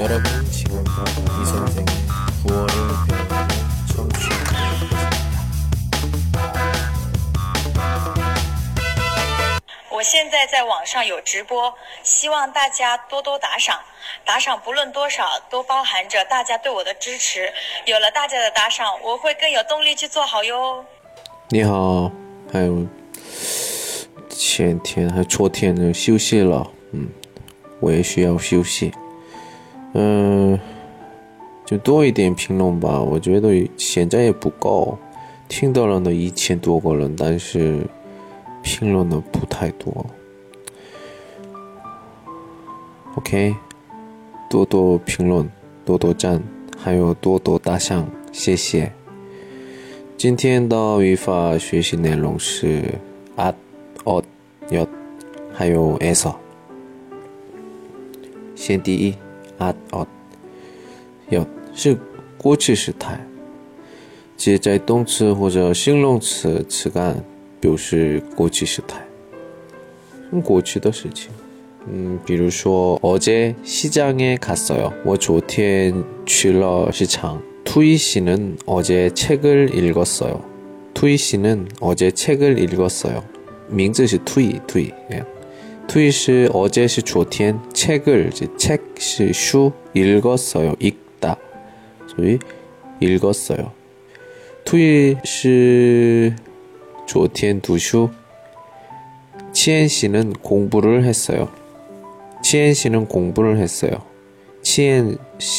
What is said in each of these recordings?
여러분 지금껏 이 선생의 구월을 배우고 청취하고 계십니다. 我现在在网上有直播，希望大家多多打赏，打赏不论多少都包含着大家对我的支持，有了大家的打赏，我会更有动力去做好哟。 你好，还有前天还昨天就休息了，我也需要休息。就多一点评论吧，我觉得现在也不够，听到人的1000多个人，但是评论的不太多。OK， 多多评论，多多赞，还有多多打赏，谢谢。今天的语法学习内容是 at, ot, 엿, 还有 에서。先第一 at, ot, 엿是过去时态，接在动词或者形容词词干表示过去时态，过去的事情。比如说어제 시장에 갔어요. 我昨天去了市场。투이 씨는 어제 책을 읽었어요. 투이 씨는 어제 책을 읽었어요. 名字是 투이. 투이 是 어제 是昨天 책을 책是书 읽었어요. 읽다. 所以 읽었어요. 투이 是昨天读书. 치엔 씨는 공부를 했어요. 치엔 씨는 공부를 했어요. 치엔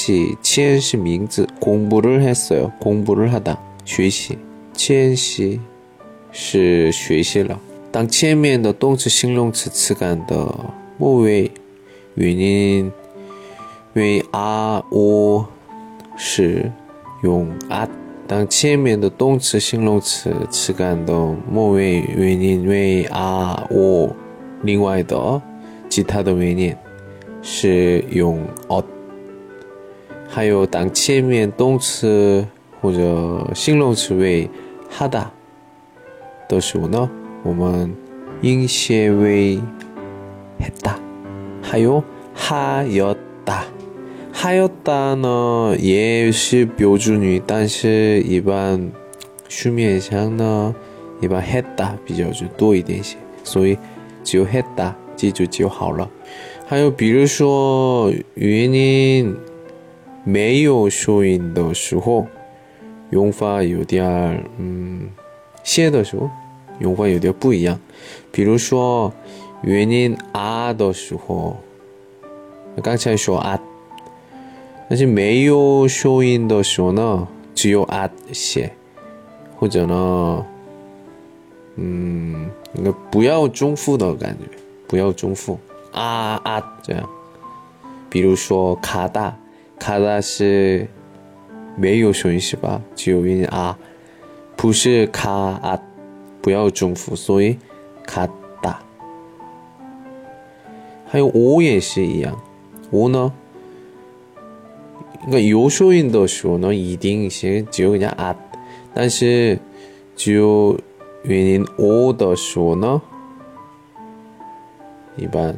씨名字 공부를 했어요. 공부를 하다 学习 치엔 씨是学习了。当前面的动词形容词词干的末尾原因为 o 是用 at， 当前面的动词形容词词干的末尾原因为 o， 另外的其他的原因是用 ot。 还有当前面动词或者形容词为 하다 的时候呢，我们音写为 했다。 还有 하였다。 하였다呢也是标准语，但是一般书面上呢一般 했다 比较多一点些，所以只有 했다 记住就好了。还有比如说原因没有收音的时候，用法有点写的时候用法有点不一样。比如说原因的时候，刚才说但是没有收音的时候呢，只有写，或者呢不要重复的感觉，不要重复这样。比如说가다是没有收音是吧？只有音不是不要重复，所以가다。还有o也是一样，o呢，有收音的时候呢，一定是只有그냥但是只有原因o的时候呢，一般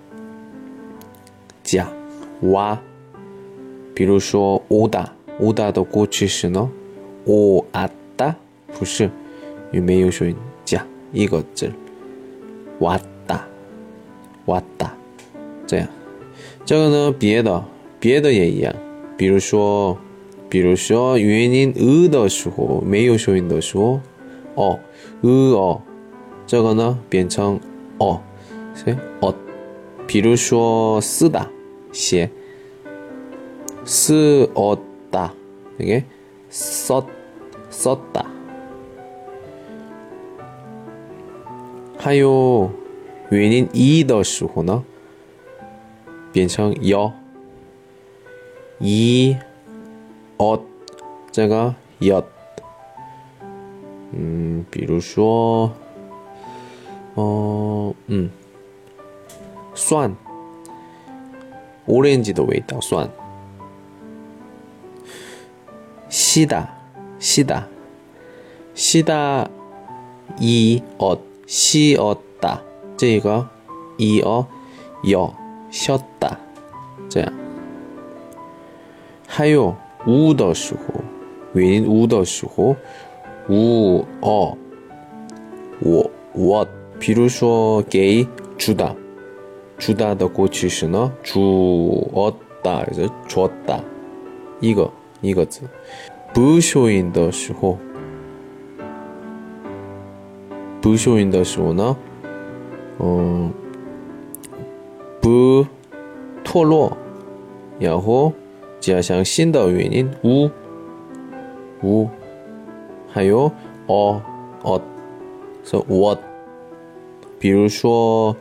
加와。比如说 오다的过去式呢 오았다 不是，因为没有收音，加一个字 왔다 这样。这个呢别的也一样。比如说原因的时候，没有收音的时候这个呢变成比如说쓰다写쓰었다 이게 썼다。 还有原因一的时候呢变成这个엿。 比如说酸오렌지的味道酸。시다 시었다 这个쉬었다这样。 还有无的时候，原因无的时候，无我比如说给주다 주다的过去式呢주었다 그래서 줬다 이거字不修音的时候呢不脱落然后加上新的原因无还有so what 比如说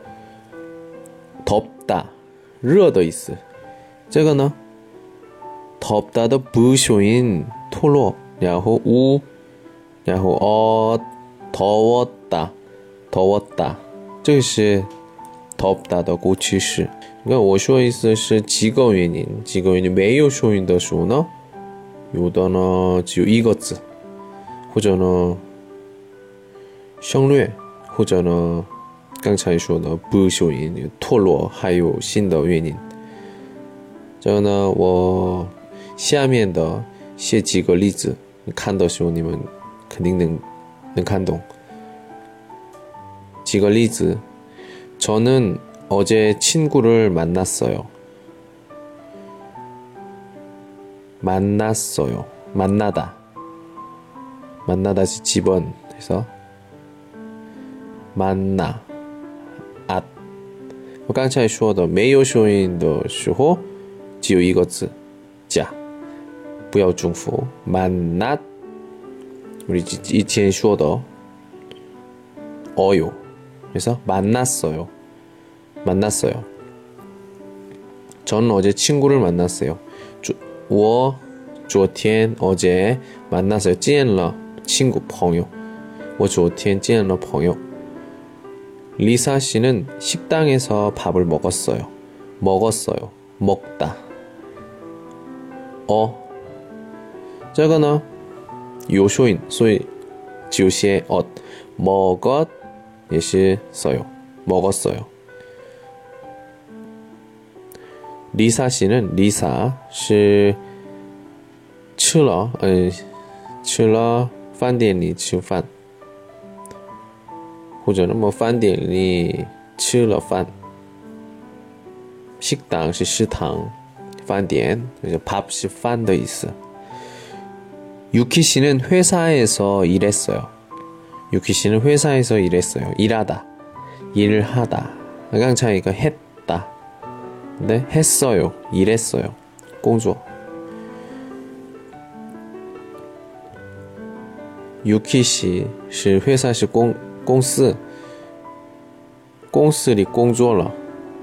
덥다热的意思这个呢덥다的不修音脱落然后无然后더웠다这个是덥다的过去式你看我说的意思是几个原因没有修音的时候呢有的呢只有一个字或者呢省略或者呢刚才说的不修音脱落还有新的原因这个呢我下面的写几个例子你看的时候你们肯定能看懂几个例子저는 어제 친구를 만났어요. 만나다 집은 해서 만나我刚才说的没有修音的时候只有一个字자不要重复만났 우리以前说的어요 그래서 만났어요. 저는 어제 친구를 만났어요. 我昨天 어제 만났어요. 见了친구朋友我昨天见了朋友 리사 씨는 식당에서 밥을 먹었어요. 먹다 这个呢有修音所以只有写먹었也是써요. 먹었어요. 리사 씨는 리사是吃了饭店里吃饭或者那么饭店里吃了饭 식당 是食堂饭店밥是饭的意思 유키 씨는 회사에서 일했어요. 유키 씨는 회사에서 일했어요. 일을 하다.刚才一个 했다. 근데 했어요. 일했어요. 工作. 유키 씨是 회사 是公司公司里工作了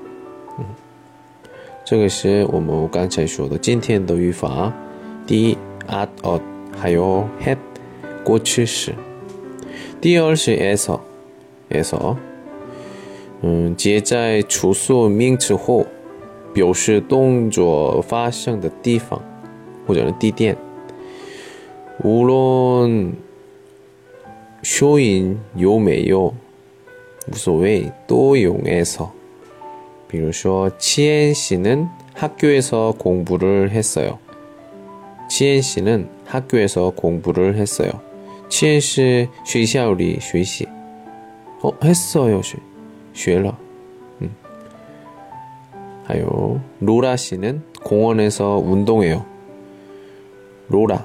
这个是我们刚才说的今天的语法第一 at还有 had 过去式第二是 에서 接在处所名词后表示动作发生的地方或者地点无论修音有没有无所谓都用 에서 比如说치엔 씨는 학교에서 공부를 했어요. 치엔 씨는 학교에서 공부를 했어요. 치엔 씨 学校里学习 했어요. 学了 还有 로라 씨는 공원에서 운동해요. 로라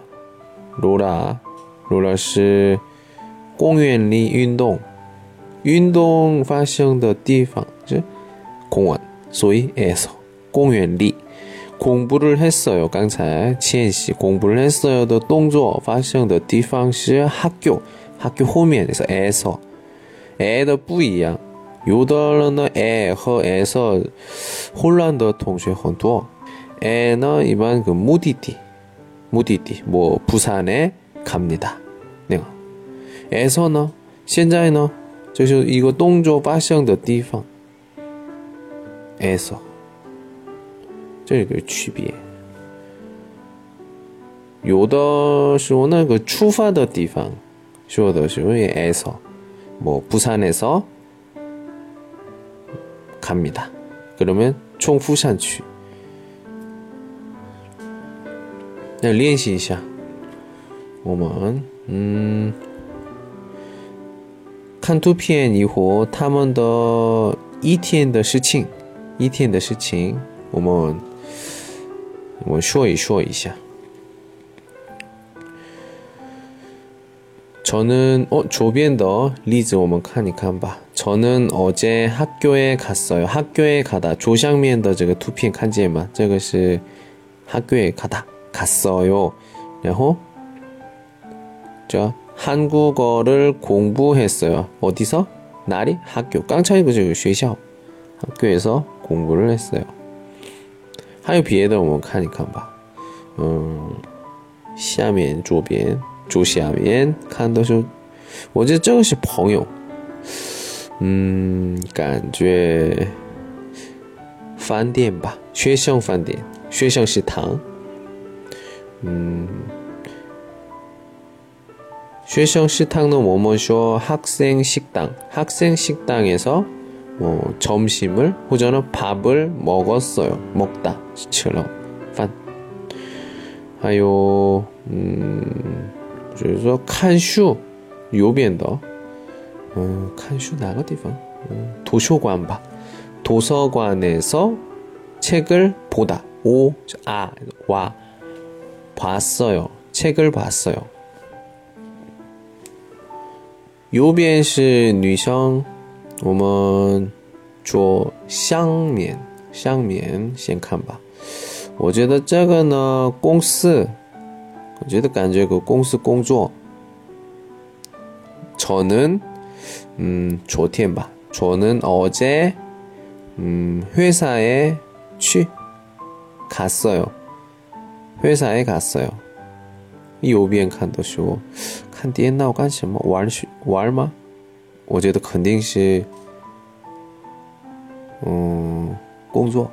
是公园里运动发生的地方是公园所以 에서 公园里 공부를 했어요. 刚才치엔 씨 공부를 했어요的动作发生的地方是학교后面是 에서 에的不一样有的人呢 에和 에서 混乱的同学很多 에呢一般그目的地뭐 부산에 갑니다. 那个 에서呢现在呢就是一个动作发生的地方 에서 这个区别有的时候那个出发的地方说的时候也 에서 뭐 부산에서 갑니다. 그러면 총부산区那练习一下。我们看图片以后他们的一天的事情我们说一下。 저는 조변더 리즈 我们看一看吧. 저는 어제 학교에 갔어요. 학교에 가다 조상面的这个图片看见吗?这个是 학교에 가다 갔어요. 然后 저 한국어를 공부했어요. 어디서? 나리? 학교. 깡차이 그学校. 학교에서 공부를 했어요. 还有别的我们看一看吧. 下面左边 左下面看的是我觉得这个是朋友感觉饭店吧学生饭店学生食堂学生食堂는我们说 학생 식당 학생 식당에서 점심을 혹은 밥을 먹었어요 먹다 처럼 饭还有就是说看书右边的看书哪个地方图书馆吧 도서관에서 책을 보다 와 봤어요 책을 봤어요 右边是女生我们做香面先看吧我觉得这个呢公司我觉得感觉个公司工作 저는 昨天吧 저는 어제 회사에 갔어요 회사에 갔어요 右边看的时候看电脑干什么玩吗我觉得肯定是工作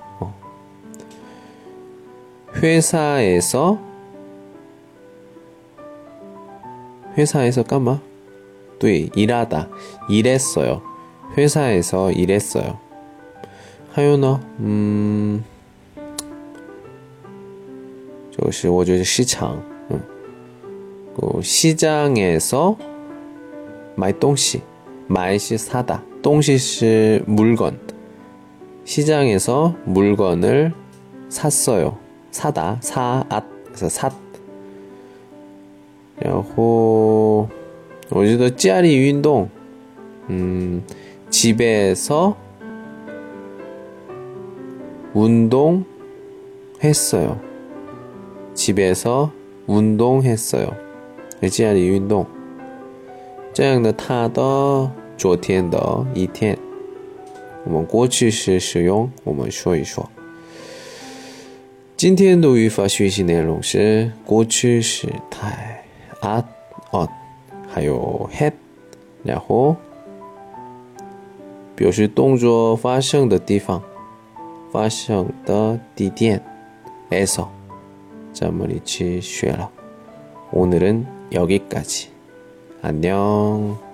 회사에서干嘛? 对, 일하다. 일했어요. 회사에서 일했어요. 还有呢? 就是我觉得市场. 시장에서 买东西. 买是 사다. 东西是 물건. 시장에서 물건을 샀어요. 사다. 그래서 샀. 然后我觉得家里运动 집에서 운동했어요. 집에서 운동했어요. 家里运动这样的他的昨天的一天我们过去时使用我们说一说今天的语法学习内容是过去时态 at, on 还有 had 然后表示动作发生的地方发生的地点 에서 咱们一起学了 오늘은 여기까지 안녕